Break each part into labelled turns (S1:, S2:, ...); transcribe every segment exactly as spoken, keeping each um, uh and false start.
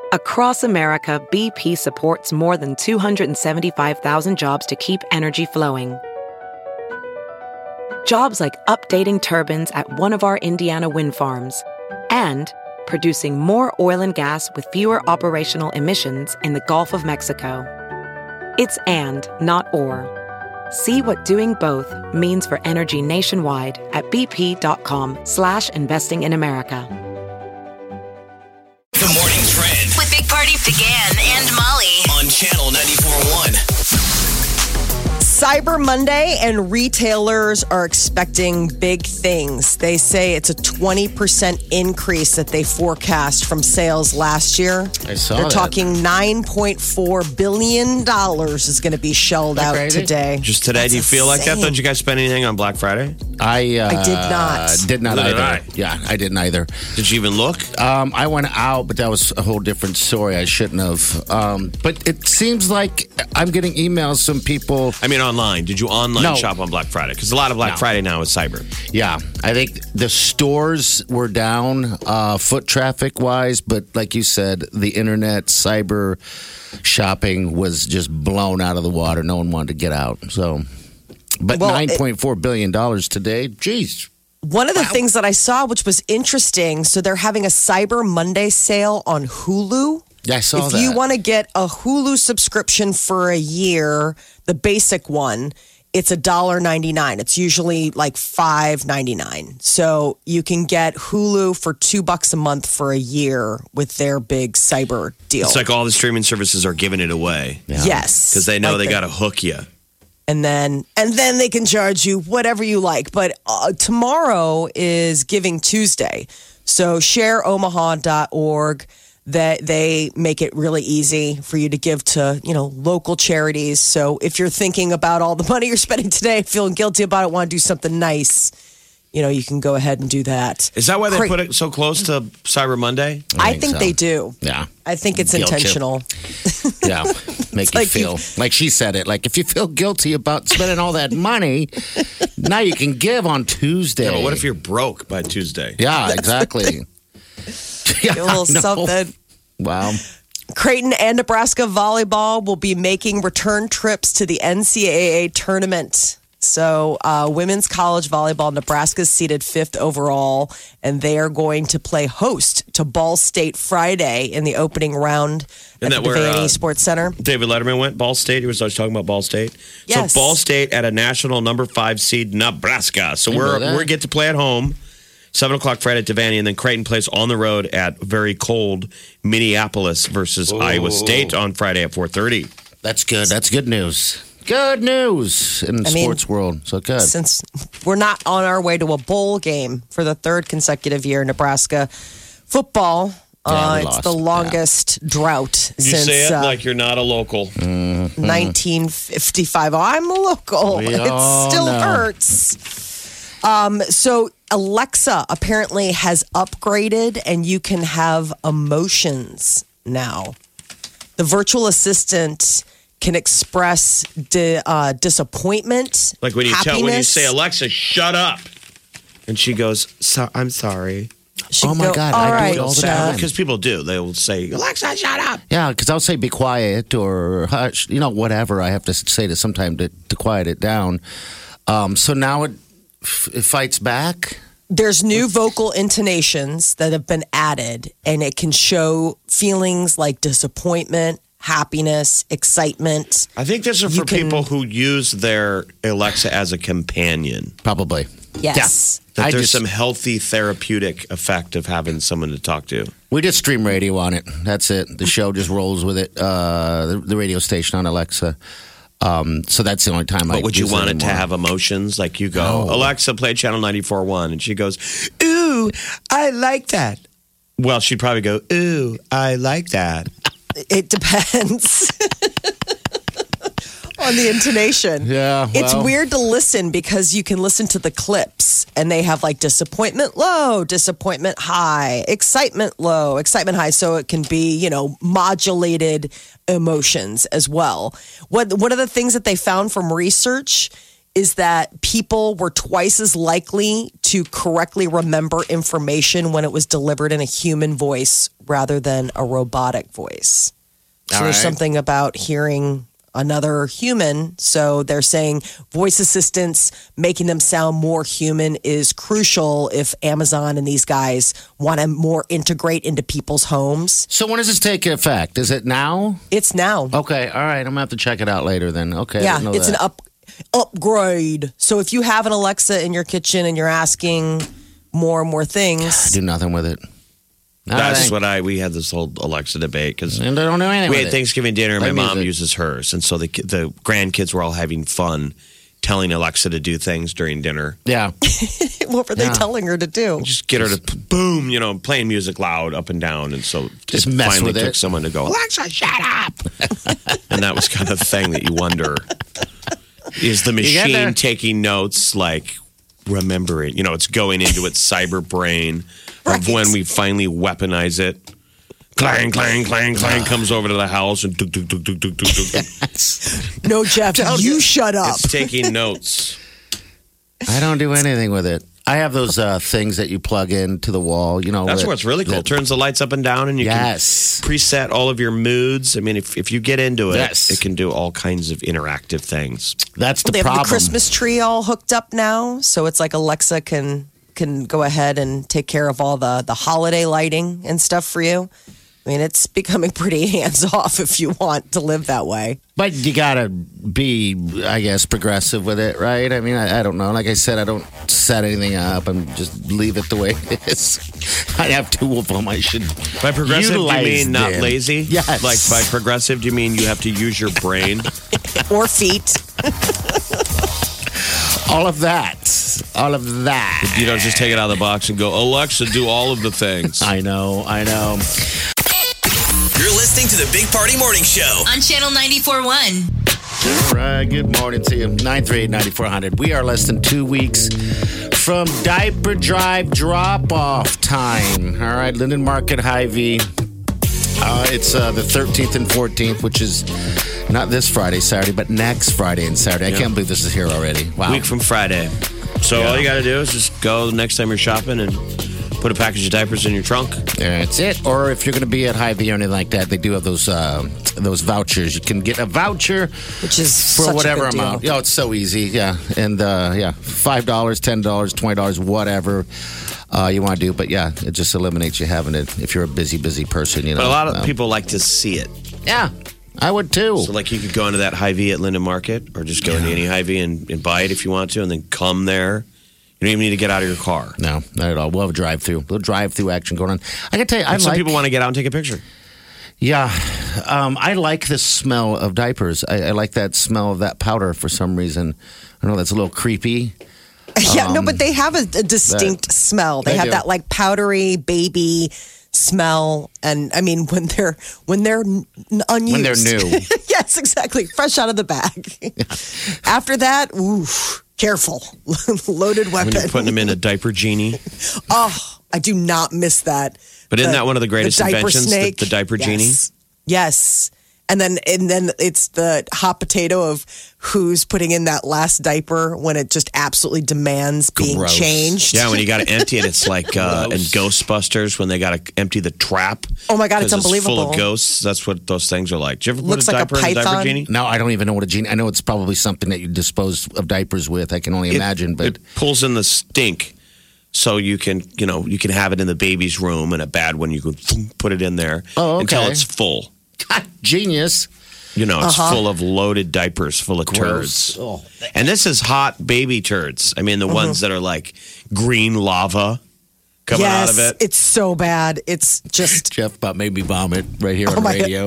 S1: Across America, B P supports more than two hundred seventy-five thousand jobs to keep energy flowing. Jobs like updating turbines at one of our Indiana wind farms and producing more oil and gas with fewer operational emissions in the Gulf of Mexico. It's and, not or. See what doing both means for energy nationwide at bp.com slash investing in America.
S2: The Morning Trend
S3: with Big Party began and Molly
S2: on Channel ninety-four point one.
S4: Cyber Monday, and retailers are expecting big things. They say it's a twenty percent increase that they forecast from sales last year.
S5: I saw
S4: They're
S5: that.
S4: talking nine point four billion dollars is going to be shelled out
S5: crazy?
S4: today.
S6: Just today,
S4: That's
S6: do you feel like that?
S4: insane.
S6: Did you guys spend anything on Black Friday?
S5: I uh,
S4: I did not.
S5: Did not
S6: Neither
S5: either.
S6: did I.
S5: Yeah, I didn't either.
S6: Did you even look?
S5: Um, I went out, but that was a whole different story. I shouldn't have. Um, but it seems like I'm getting emails from people.
S6: I mean, online. Did you online
S5: No.
S6: shop on Black Friday? Because a lot of Black
S5: No.
S6: Friday now is cyber.
S5: Yeah, I think the stores were down uh, foot traffic wise, but like you said, the internet cyber shopping was just blown out of the water. No one wanted to get out. So, but
S4: Well,
S5: nine point four billion dollars today. Geez.
S4: One of the things that I saw, which was interesting, so they're having a Cyber Monday sale on Hulu.
S5: Yeah, I saw
S4: if
S5: that.
S4: you want to get a Hulu subscription for a year, the basic one, it's a dollar ninety nine. It's usually like five ninety nine. So you can get Hulu for two bucks a month for a year with their big cyber deal.
S6: It's like all the streaming services are giving it away
S4: Yes,
S6: because they know
S4: Like
S6: they
S4: the-
S6: got to hook you.
S4: and then and then they can charge you whatever you like. But uh, tomorrow is Giving Tuesday, so share omaha dot org. That they make it really easy for you to give to, you know, local charities. So if you're thinking about all the money you're spending today, feeling guilty about it, want to do something nice, you know, you can go ahead and do that.
S6: Is that why they
S4: Cra-
S6: put it so close to Cyber Monday?
S4: I
S5: think
S4: think
S5: so.
S4: they do.
S5: Yeah.
S4: I think it's
S5: Guilt trip.
S4: intentional.
S5: Yeah, make you
S4: like
S5: feel like she said it. Like if you feel guilty about spending all that money, now you can give on Tuesday.
S6: Yeah, but what if you're broke by Tuesday?
S5: Yeah, exactly. Yeah,
S4: A little
S5: I know.
S4: something.
S5: Wow.
S4: Creighton and Nebraska volleyball will be making return trips to the N C double A tournament. So, uh, women's college volleyball, Nebraska's seated fifth overall, and they are going to play host to Ball State Friday in the opening round
S6: Isn't
S4: at
S6: that
S4: the
S6: where,
S4: Devaney
S6: uh,
S4: Sports Center.
S6: David Letterman went Ball State. He was always talking about Ball State.
S4: Yes.
S6: So Ball State at a national number five seed Nebraska. So
S5: I
S6: we're
S5: know that.
S6: we get to play at home. Seven o'clock Friday at Devaney, and then Creighton plays on the road at very cold Minneapolis versus Iowa State on Friday at four thirty.
S5: That's good. That's good news. Good news in the
S4: I mean,
S5: sports world. So good.
S4: Since we're not on our way to a bowl game for the third consecutive year, Nebraska football.
S5: Yeah,
S4: uh,
S5: we
S4: it's
S5: lost.
S4: the longest drought
S6: You
S4: since
S6: say it
S4: uh,
S6: like you're not a local.
S4: nineteen fifty-five. Oh, I'm a local.
S5: We
S4: It
S5: all
S4: still
S5: know.
S4: hurts. Um, so Alexa apparently has upgraded, and you can have emotions now. The virtual assistant can express di- uh, disappointment,
S6: Like when you tell when you
S4: happiness.
S6: say Alexa, shut up, and she goes, so, "I'm sorry."
S4: She
S5: Oh,
S4: can
S5: my
S4: go,
S5: God,
S4: all
S5: I do it
S4: right,
S5: all the
S4: Dad."
S5: time.
S6: Because people do. They will say, "Alexa, shut up."
S5: Yeah, because I'll say be quiet or hush, you know, whatever I have to say to sometime to, to quiet it down. Um, so now it, it fights back.
S4: There's new vocal intonations that have been added, and it can show feelings like disappointment, happiness, excitement.
S6: I think this is
S4: You
S6: for
S4: can-
S6: people who use their Alexa as a companion.
S5: Probably.
S4: Yes.
S6: That
S5: I
S6: there's
S5: just-
S6: some healthy therapeutic effect of having someone to talk to.
S5: We just stream radio on it. That's it. The show just rolls with it. Uh, the, the radio station on Alexa. Um, so that's the only time I
S6: But would you
S5: use
S6: want it to
S5: anymore.
S6: have emotions? Like you go,
S5: No.
S6: Alexa, play channel ninety-four point one. And she goes, ooh, I like that. Well, she'd probably go, ooh, I like that.
S4: It depends on the intonation.
S5: Yeah,
S4: It's
S5: well.
S4: weird to listen because you can listen to the clips and they have like disappointment low, disappointment high, excitement low, excitement high. So it can be, you know, modulated emotions as well. What one of the things that they found from research is that people were twice as likely to correctly remember information when it was delivered in a human voice rather than a robotic voice. So
S5: All
S4: there's
S5: right.
S4: something about hearing another human. So they're saying voice assistants, making them sound more human is crucial if Amazon and these guys want to more integrate into people's homes.
S5: So when does this take effect? Is it now?
S4: It's now.
S5: Okay, all right. I'm gonna have to check it out later then. Okay. I
S4: Yeah,
S5: didn't know
S4: it's
S5: that.
S4: an up upgrade. So if you have an Alexa in your kitchen and you're asking more and more things,
S5: do nothing with it. No,
S6: That's
S5: thank-
S6: what I. We had this whole Alexa debate because
S5: And they don't do anything
S6: we
S5: with
S6: had
S5: it.
S6: Thanksgiving dinner. and
S5: Play
S6: My mom
S5: music.
S6: uses hers, and so the the grandkids were all having fun, telling Alexa to do things during dinner.
S5: Yeah.
S4: what were they
S5: Yeah.
S4: telling her to do?
S6: Just get her to p- boom, you know, playing music loud up and down, and so
S5: Just
S6: it
S5: mess
S6: finally
S5: with
S6: took
S5: it.
S6: someone to go, Alexa, shut up, and that was kind of the thing that you wonder: is the
S5: get there.
S6: machine taking notes? Like, remember it? You know, it's going into its cyber brain of
S4: Right.
S6: when we finally weaponize it. Clang, clang, clang, clang comes over to the house and tuk, tuk, tuk, tuk, tuk, tuk, tuk, tuk.
S4: No, Jeff, you shut up.
S6: It's taking notes.
S5: I don't do anything with it. I have those uh, things that you plug into the wall. You know,
S6: That's
S5: that-
S6: what's really cool.
S5: that-
S6: Turns the lights up and down, and you
S5: Yes.
S6: can preset all of your moods. I mean, if, if you get into it,
S5: Yes.
S6: it can do all kinds of interactive things.
S5: That's the
S4: They have
S5: problem.
S4: the Christmas tree all hooked up now, so it's like Alexa can can go ahead and take care of all the the holiday lighting and stuff for you. I mean, it's becoming pretty hands off if you want to live that way.
S5: But you gotta be, I guess, progressive with it, right? I mean, I, I don't know. Like I said, I don't set anything up and just leave it the way it is. I have two of them. I should.
S6: By progressive, do you
S5: utilize
S6: mean not
S5: them.
S6: lazy?
S5: Yes.
S6: Like by progressive, do you mean you have to use your brain?
S4: Or feet.
S5: All of that. All of that.
S6: You don't just take it out of the box and go, Alexa, do all of the things.
S5: I know. I know.
S2: You're listening to the Big Party Morning Show.
S3: On Channel ninety-four point one.
S5: All right. Good morning to you. nine three eight, nine four zero zero. We are less than two weeks from diaper drive drop off time. All right. Linden Market, Hy-Vee. Uh, it's uh, the thirteenth and fourteenth, which is not this Friday, Saturday, but next Friday and Saturday. I can't believe this is here already. Wow.
S6: Week from Friday. So
S5: Yeah.
S6: all you got to do is just go the next time you're shopping and put a package of diapers in your trunk.
S5: That's it. Or if you're going to be at Hy-Vee or anything like that, they do have those uh, those vouchers. You can get a voucher
S4: Which is
S5: for
S4: such a
S5: whatever
S4: good deal.
S5: amount. Yeah, it's so easy. Yeah, and uh, yeah, five dollars, ten dollars, twenty dollars, whatever uh, you want to do. But yeah, it just eliminates you having it if you're a busy, busy person. You know,
S6: But a lot of
S5: Um,
S6: people like to see it.
S5: Yeah, I would too.
S6: So, like, you could go into that Hy-Vee at Linden Market or just go into any Hy-Vee and, and buy it if you want to, and then come there. You don't even need to get out of your car.
S5: no, not at all. We'll have a drive-through. A little drive-through action going on. I can tell you, I
S6: And some
S5: like.
S6: people want to get out and take a picture.
S5: Yeah, um, I like the smell of diapers. I, I like that smell of that powder for some reason. I know that's a little creepy.
S4: Yeah, no, but they have a, a distinct smell. They,
S5: they
S4: have
S5: do.
S4: that like powdery baby smell, and I mean when they're when they're n- unused,
S5: When they're new.
S4: yes, exactly, fresh out of the bag. After that, oof, careful, loaded
S6: When
S4: weapon.
S6: you're putting them in a diaper genie.
S4: Oh, I do not miss that.
S6: But isn't that one of the greatest
S4: diaper
S6: inventions, the-
S4: snake?
S6: the diaper
S4: yes.
S6: genie?
S4: Yes. And then and then it's the hot potato of who's putting in that last diaper when it just absolutely demands being
S5: Gross.
S4: changed.
S6: Yeah, when you got to empty it, it's like uh, in
S5: Gross.
S6: Ghostbusters when they got to empty the trap.
S4: Oh my God, it's
S6: 'Cause full
S4: unbelievable.
S6: of ghosts. That's what those things are like. Did you ever
S4: Looks
S6: put a
S4: like a
S6: diaper in a diaper
S4: python.
S6: genie?
S5: No, I don't even know what a genie. I know it's probably something that you dispose of diapers with. I can only
S6: It-
S5: imagine, but
S6: it pulls in the stink, so you can you know you can have it in the baby's room, and a bad one you can thump, put it in there
S5: Oh,
S6: until
S5: okay.
S6: it's full.
S5: God, genius.
S6: You know, it's
S4: Uh-huh.
S6: full of loaded diapers, full of
S5: Gross.
S6: turds.
S5: Oh.
S6: And this is hot baby turds. I mean, the ones that are like green lava coming
S4: yes,
S6: out of it.
S4: it's so bad. It's just.
S5: Jeff about made me vomit right here on the
S4: my
S5: radio.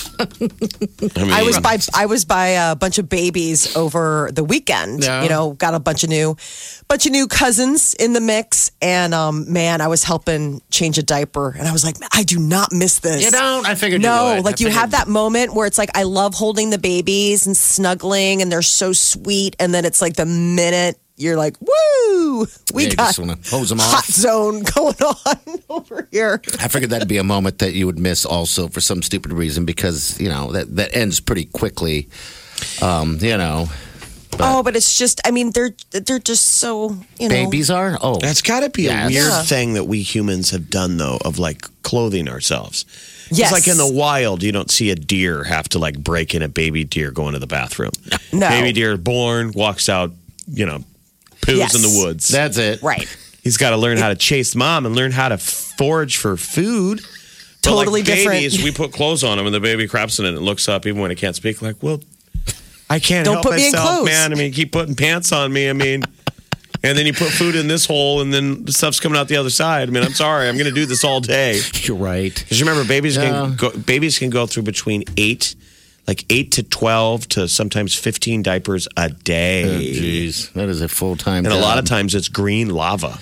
S6: I, mean,
S4: I was by I was by a bunch of babies over the weekend.
S5: Yeah.
S4: You know, got a bunch of new, bunch of new cousins in the mix, and um, man, I was helping change a diaper, and I was like, I do not miss this.
S5: You don't? I figured you
S4: No,
S5: would.
S4: like
S5: I
S4: you
S5: figured-
S4: have that moment where it's like I love holding the babies and snuggling, and they're so sweet, and then it's like the minute you're like, woo, we
S5: Yeah, you
S4: got
S5: just wanna hose 'em
S4: hot
S5: off.
S4: zone going on over here.
S5: I figured that'd be a moment that you would miss also for some stupid reason because, you know, that, that ends pretty quickly. Um, you know,
S4: Oh, but it's just, I mean, they're they're just so, you know.
S5: Babies are? Oh.
S6: That's got to be
S5: Yes.
S6: a weird
S4: Yeah.
S6: thing that we humans have done, though, of like clothing ourselves.
S4: Yes.
S6: It's like in the wild, you don't see a deer have to like break in a baby deer going to the bathroom.
S4: No.
S6: Baby deer born, walks out, you know, poos
S4: Yes.
S6: in the woods.
S5: That's it.
S4: Right.
S6: He's got to learn how to chase mom and learn how to forage for food. But
S4: Totally
S6: like
S4: different.
S6: babies, we put clothes on them and the baby craps in it and it looks up even when it can't speak. Like, well, I can't
S4: Don't
S6: help
S4: put me in
S6: myself,
S4: clothes.
S6: man. I mean, you keep putting pants on me. I mean, and then you put food in this hole and then the stuff's coming out the other side. I mean, I'm sorry. I'm going to do this all day.
S5: You're right.
S6: Because remember, babies
S5: Yeah.
S6: can go, babies can go through between eight, like eight to twelve to sometimes fifteen diapers a day.
S5: Oh, jeez. That is a full time
S6: And a lot of times it's green lava.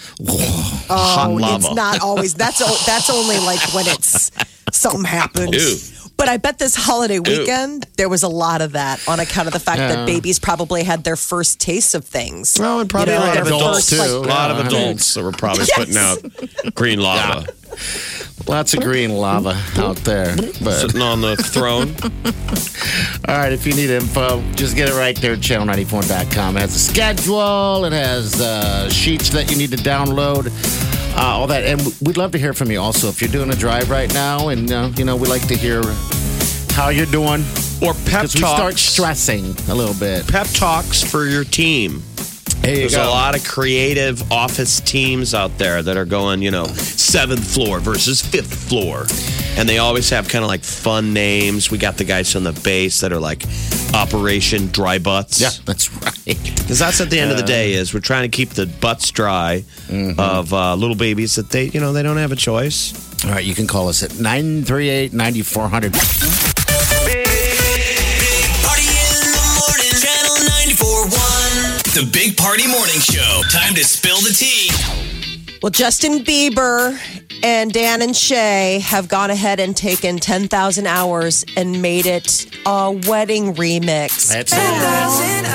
S6: Hot
S4: Oh,
S6: lava.
S4: it's not always. That's o- that's only like when it's something happens.
S6: Ew.
S4: But I bet this holiday weekend there was a lot of that on account of the fact
S5: Yeah.
S4: that babies probably had their first taste of things.
S6: Well, and probably
S4: You know,
S6: a lot
S4: their
S6: of adults
S4: first,
S6: too.
S4: like-
S6: a lot of
S5: Yeah.
S6: adults that were probably
S4: Yes.
S6: putting out green lava,
S5: Lots of green lava out there. But
S6: sitting on the throne.
S5: all right, if you need info, just get it right there at channel ninety-four dot com. It has a schedule, it has uh, sheets that you need to download, uh, all that. And we'd love to hear from you also. If you're doing a drive right now, and, uh, you know, we like to hear how you're doing.
S6: Or pep
S5: Because we start
S6: talks.
S5: stressing a little bit.
S6: Pep talks for your team.
S5: There you
S6: There's
S5: go.
S6: a lot of creative office teams out there that are going, you know, seventh floor versus fifth floor. And they always have kind of like fun names. We got the guys on the base that are like Operation Dry Butts.
S5: Yeah, that's right.
S6: Because that's at the end of the day is we're trying to keep the butts dry of uh, little babies that they, you know, they don't have a choice.
S5: All right, you can call us at nine three eight, nine four zero zero.
S2: Big Party in the morning. Channel ninety-four point one. The Big Party Morning Show. Time to spill the tea.
S4: Well, Justin Bieber and Dan and Shay have gone ahead and taken ten thousand hours and made it a wedding remix.
S5: That's
S7: ten
S5: it.
S7: thousand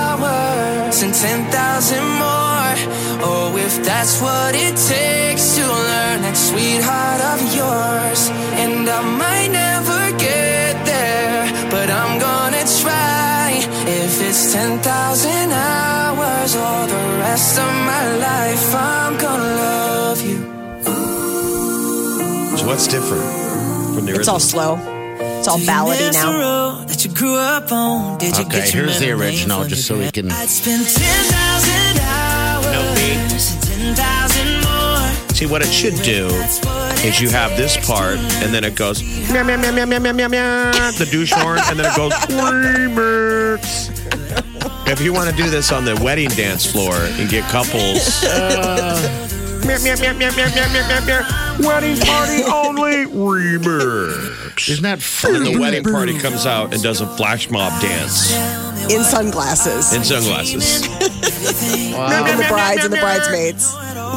S7: hours and ten thousand more. Oh, if that's what it takes to learn that sweetheart of yours. And I might never get there, but I'm gonna try. If it's ten thousand hours or the rest of my life, I'm gonna love you.
S6: So what's different from the
S4: It's all
S6: original?
S4: slow. It's all ballady now.
S7: That you grew up on. Did you
S5: Okay,
S7: get your
S5: here's the
S7: memory
S5: original,
S7: from
S5: just
S7: the
S5: so we
S7: grave?
S5: can-
S7: I'd spend ten thousand hours
S6: No beat.
S7: and ten thousand more.
S6: See, what it should do is you have this part, and then it goes meow meow meow meow meow meow meow meow, the douche horn, and then it goes remix. If you want to do this on the wedding dance floor and get couples, meow meow meow meow meow meow meow meow meow, wedding party only remix.
S5: Isn't that fun?
S6: And the wedding party comes out and does a flash mob dance
S4: In sunglasses.
S6: in sunglasses.
S4: Even the brides and the bridesmaids.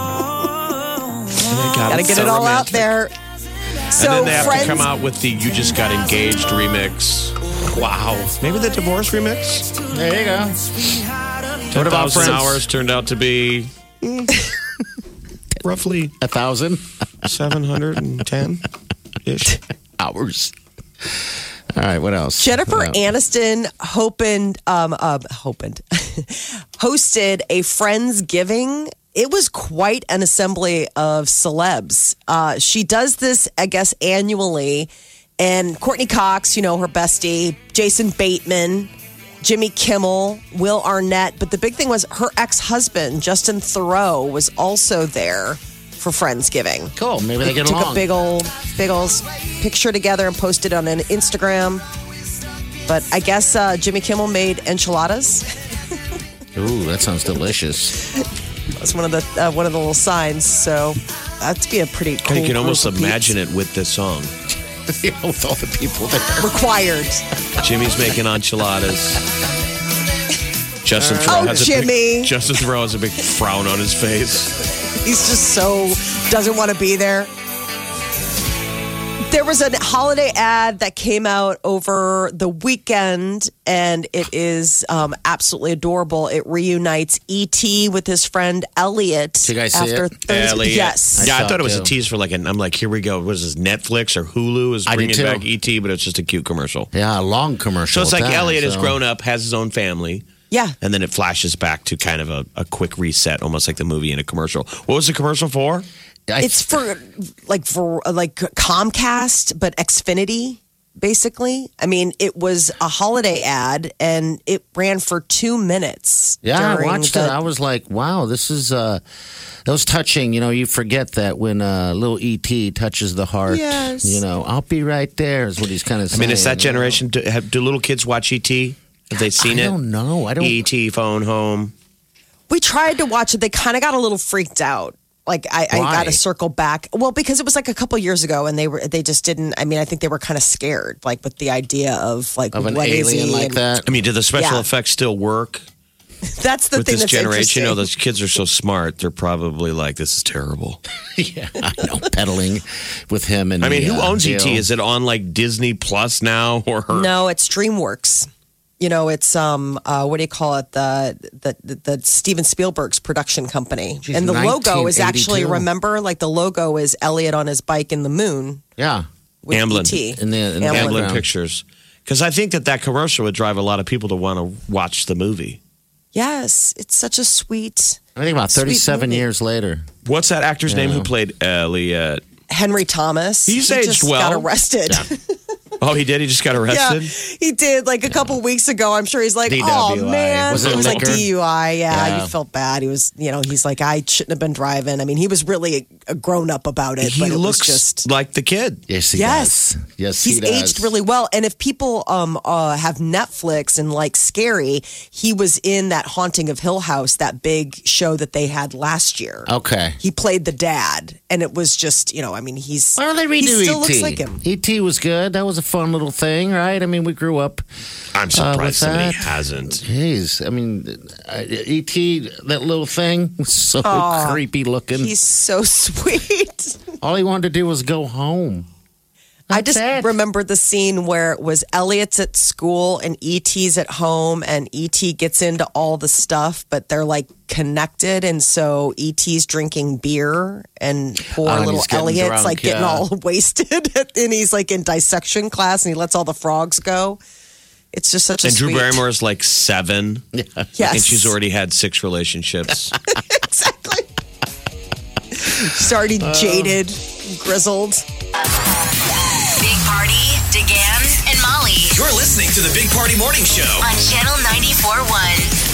S4: Gotta get it all out there. So,
S6: And then they have
S4: friends,
S6: to come out with the "You Just Got Engaged" remix. Wow, maybe the divorce remix.
S5: There you go.
S6: What
S5: about
S6: about
S5: Friends?
S6: hours turned out to be mm, roughly
S5: A thousand
S6: seven hundred and ten ish.
S5: hours. All right, what else?
S4: Jennifer
S5: What else?
S4: Aniston opened, um, uh, opened, hosted a Friendsgiving. It was quite an assembly of celebs. Uh, she does this, I guess, annually. And Courtney Cox, you know, her bestie, Jason Bateman, Jimmy Kimmel, Will Arnett. But the big thing was her ex-husband, Justin Theroux, was also there for Friendsgiving.
S5: Cool. Maybe they get
S4: Took
S5: along.
S4: a big old, big old picture together and posted on an Instagram. But I guess uh, Jimmy Kimmel made enchiladas.
S5: Ooh, that sounds delicious.
S4: That's one of the uh, one of the little signs. So that'd be a pretty cool.
S6: You can almost
S4: group of
S6: imagine it with this song.
S5: You know, with all the people there.
S4: peeps. Required.
S6: Jimmy's making enchiladas. Justin Theroux
S4: Oh,
S6: has a
S4: Jimmy.
S6: big, Justin Theroux has a big frown on his face.
S4: He's just so doesn't want to be there. There was a holiday ad that came out over the weekend, and it is um, absolutely adorable. It reunites E T with his friend Elliot.
S5: Did you guys see
S4: after
S5: it?
S4: Thursday.
S6: Elliot.
S4: Yes.
S6: Yeah, I
S5: saw
S6: thought it
S5: it
S6: was a
S5: too.
S6: tease for like an. I'm like, here we go. What is this? Netflix or Hulu is
S5: I did
S6: bringing back
S5: too.
S6: E T, but it's just a cute commercial.
S5: Yeah, a long commercial.
S6: So it's like
S5: at that,
S6: Elliot has
S5: so-
S6: grown up, has his own family.
S4: Yeah.
S6: And then it flashes back to kind of a, a quick reset, almost like the movie in a commercial. What was the commercial for?
S5: I,
S4: It's for like for like Comcast, but Xfinity, basically. I mean, it was a holiday ad, and it ran for two minutes.
S5: yeah, I
S4: during
S5: watched
S4: the-
S5: it. I was like, wow, this is uh, that was touching. You know, you forget that when uh, little E T touches the heart.
S4: Yes.
S5: You know, I'll be right there is what he's kind of
S6: I
S5: saying.
S6: mean, is that
S5: you know?
S6: generation? Do, have, do little kids watch E T? Have they seen
S5: I
S6: it?
S5: don't know. I don't.
S6: E T phone home.
S4: We tried to watch it. They kind of got a little freaked out. Like I, I
S5: Why?
S4: got to circle back. Well, because it was like a couple years ago, and they were they just didn't. I mean, I think they were kind of scared, like with the idea of like
S5: Of an
S4: what is
S5: alien
S4: he
S5: like
S4: and-
S5: that.
S6: I mean, do the special
S4: Yeah.
S6: effects still work
S4: That's the
S6: with
S4: thing
S6: this
S4: that's
S6: generation? You know,
S4: interesting.
S6: those kids are so smart. They're probably like, this is terrible.
S5: Yeah, I know. Pedaling with him and
S6: I mean,
S5: the,
S6: who
S5: uh,
S6: owns E T?
S5: Hill.
S6: Is it on like Disney Plus now? Or
S4: No, it's DreamWorks. You know, it's um, uh, what do you call it? The the the, the Steven Spielberg's production company,
S5: Geez,
S4: and the logo is actually
S5: nineteen eighty-two.
S4: remember, like the logo is Elliot on his bike in the moon
S5: Yeah.
S4: with
S6: Amblin.
S4: E T.
S5: In the, in the
S4: Amblin.
S6: Amblin
S5: background.
S6: Pictures. Because I think that that commercial would drive a lot of people to want to watch the movie.
S4: Yes, it's such a sweet
S5: I think about
S4: Sweet
S5: thirty-seven
S4: movie.
S5: years later.
S6: What's that actor's name
S5: Yeah.
S6: who played Elliot?
S4: Henry Thomas.
S6: He's
S4: he
S6: aged
S4: just
S6: well.
S4: got arrested.
S6: Oh, he did? He just got
S4: Yeah,
S6: arrested?
S4: he did like a couple weeks ago. I'm sure he's like,
S6: D W I.
S4: oh man,
S5: Was it
S4: it was like
S5: liquor?
S4: D U I. Yeah,
S5: Yeah.
S4: you felt bad. He was, you know, he's like, I shouldn't have been driving. I mean, he was really a grown up about it,
S6: He
S4: but it
S6: looks
S4: was just.
S6: like the kid.
S5: Yes, he
S4: Yes.
S5: does. Yes,
S4: He's
S5: he does.
S4: aged really well, and if people um uh, have Netflix and like Scary, he was in that Haunting of Hill House, that big show that they had last year.
S5: Okay.
S4: He played the dad, and it was just, you know, I mean, he's
S5: Why don't they
S4: he
S5: redo
S4: still
S5: E T?
S4: looks like him.
S5: E T was good. That was a fun little thing, right? I mean, we grew up.
S6: I'm
S5: Uh,
S6: surprised
S5: with
S6: somebody
S5: that?
S6: hasn't.
S5: Jeez, I mean, uh, E T, that little thing was so creepy looking.
S4: He's so sweet.
S5: All he wanted to do was go home.
S4: I just
S5: it.
S4: remember the scene where it was Elliot's at school and E T's at home, and E T gets into all the stuff, but they're like connected. And so E T's drinking beer, and poor
S5: Oh, and
S4: little
S5: he's getting
S4: Elliot's
S5: drunk,
S4: like getting
S5: yeah.
S4: all wasted. And he's like in dissection class, and he lets all the frogs go. It's just such a
S6: And Drew
S4: sweet.
S6: Barrymore is like seven.
S4: Yes.
S6: And she's already had six relationships.
S4: Exactly. She's already
S5: Uh.
S4: jaded, grizzled.
S3: Big Party, DeGan, and Molly
S2: You're listening to the Big Party Morning Show.
S3: on Channel ninety-four point one.